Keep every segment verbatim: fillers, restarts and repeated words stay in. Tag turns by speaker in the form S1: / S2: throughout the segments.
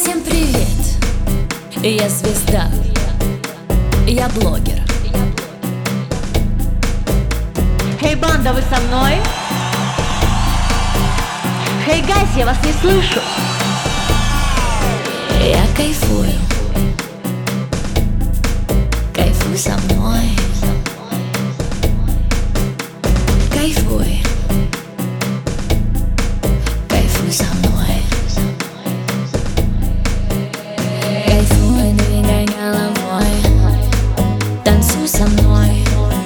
S1: Всем привет! Я звезда, я блогер.
S2: Хей, банда, вы со мной? Хей, гайс, я вас не слышу.
S1: Я кайфую, кайфуй со мной. Кайфуй, кайфуй со мной. Кайфуй, двигай головой, танцуй со мной.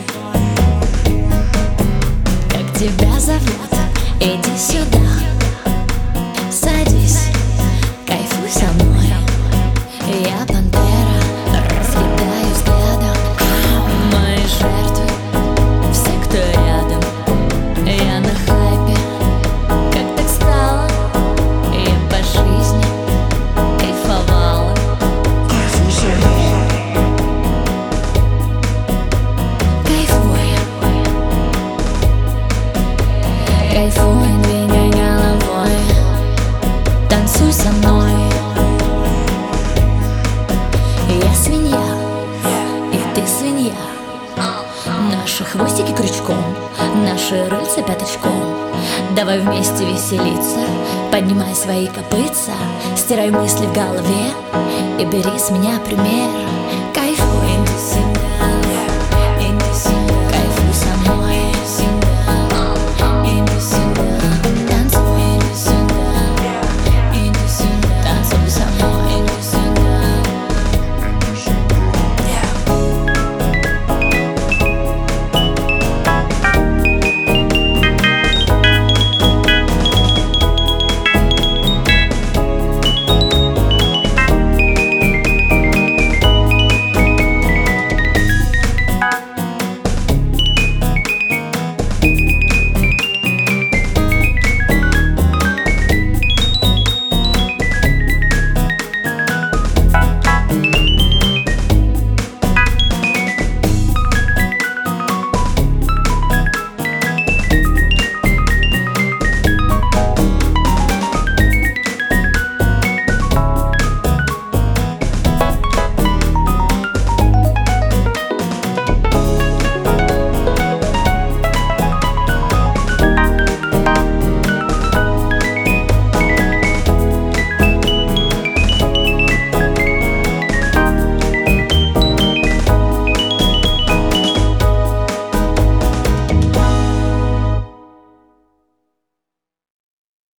S1: Как тебя зовут? Иди сюда, садись, кайфуй со мной. Я пантера, разлетаю взглядом. Мои жертвы, все, кто рядом. Я на хайпе, как так стало? Я по жизни кайфовала. Кайфуй со мной. Кайфуй, кайфуй, двигай головой, танцуй со мной. Я свинья, и ты свинья. Наши хвостики крючком, наши рыльца пяточком. Давай вместе веселиться, поднимай свои копытца, стирай мысли в голове и бери с меня пример. Кайф